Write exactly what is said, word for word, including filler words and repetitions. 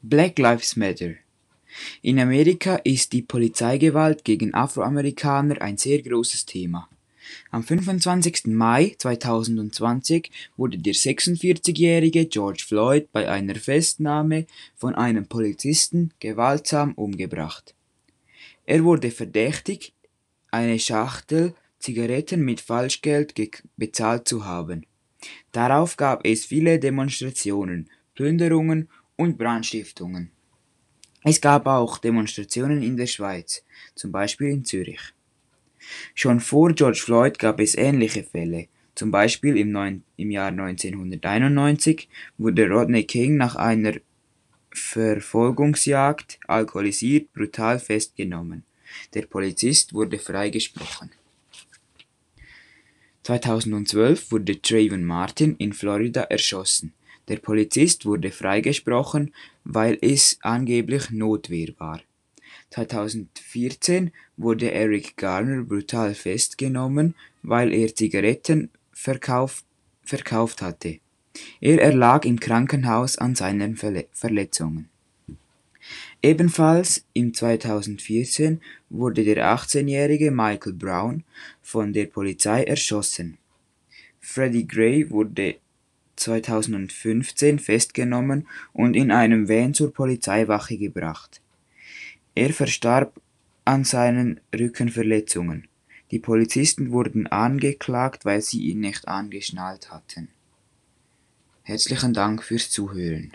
Black Lives Matter. In Amerika ist die Polizeigewalt gegen Afroamerikaner ein sehr großes Thema. Am fünfundzwanzigsten Mai zweitausendzwanzig wurde der sechsundvierzigjährige George Floyd bei einer Festnahme von einem Polizisten gewaltsam umgebracht. Er wurde verdächtigt, eine Schachtel Zigaretten mit Falschgeld bezahlt zu haben. Darauf gab es viele Demonstrationen, Plünderungen und Brandstiftungen. Es gab auch Demonstrationen in der Schweiz, zum Beispiel in Zürich. Schon vor George Floyd gab es ähnliche Fälle. Zum Beispiel im, neun, im Jahr neunzehnhunderteinundneunzig wurde Rodney King nach einer Verfolgungsjagd alkoholisiert brutal festgenommen. Der Polizist wurde freigesprochen. zweitausendzwölf wurde Trayvon Martin in Florida erschossen. Der Polizist wurde freigesprochen, weil es angeblich Notwehr war. zweitausendvierzehn wurde Eric Garner brutal festgenommen, weil er Zigaretten verkauft, verkauft hatte. Er erlag im Krankenhaus an seinen Verle- Verletzungen. Ebenfalls im zweitausendvierzehn wurde der achtzehnjährige Michael Brown von der Polizei erschossen. Freddie Gray wurde zweitausendfünfzehn festgenommen und in einem Van zur Polizeiwache gebracht. Er verstarb an seinen Rückenverletzungen. Die Polizisten wurden angeklagt, weil sie ihn nicht angeschnallt hatten. Herzlichen Dank fürs Zuhören.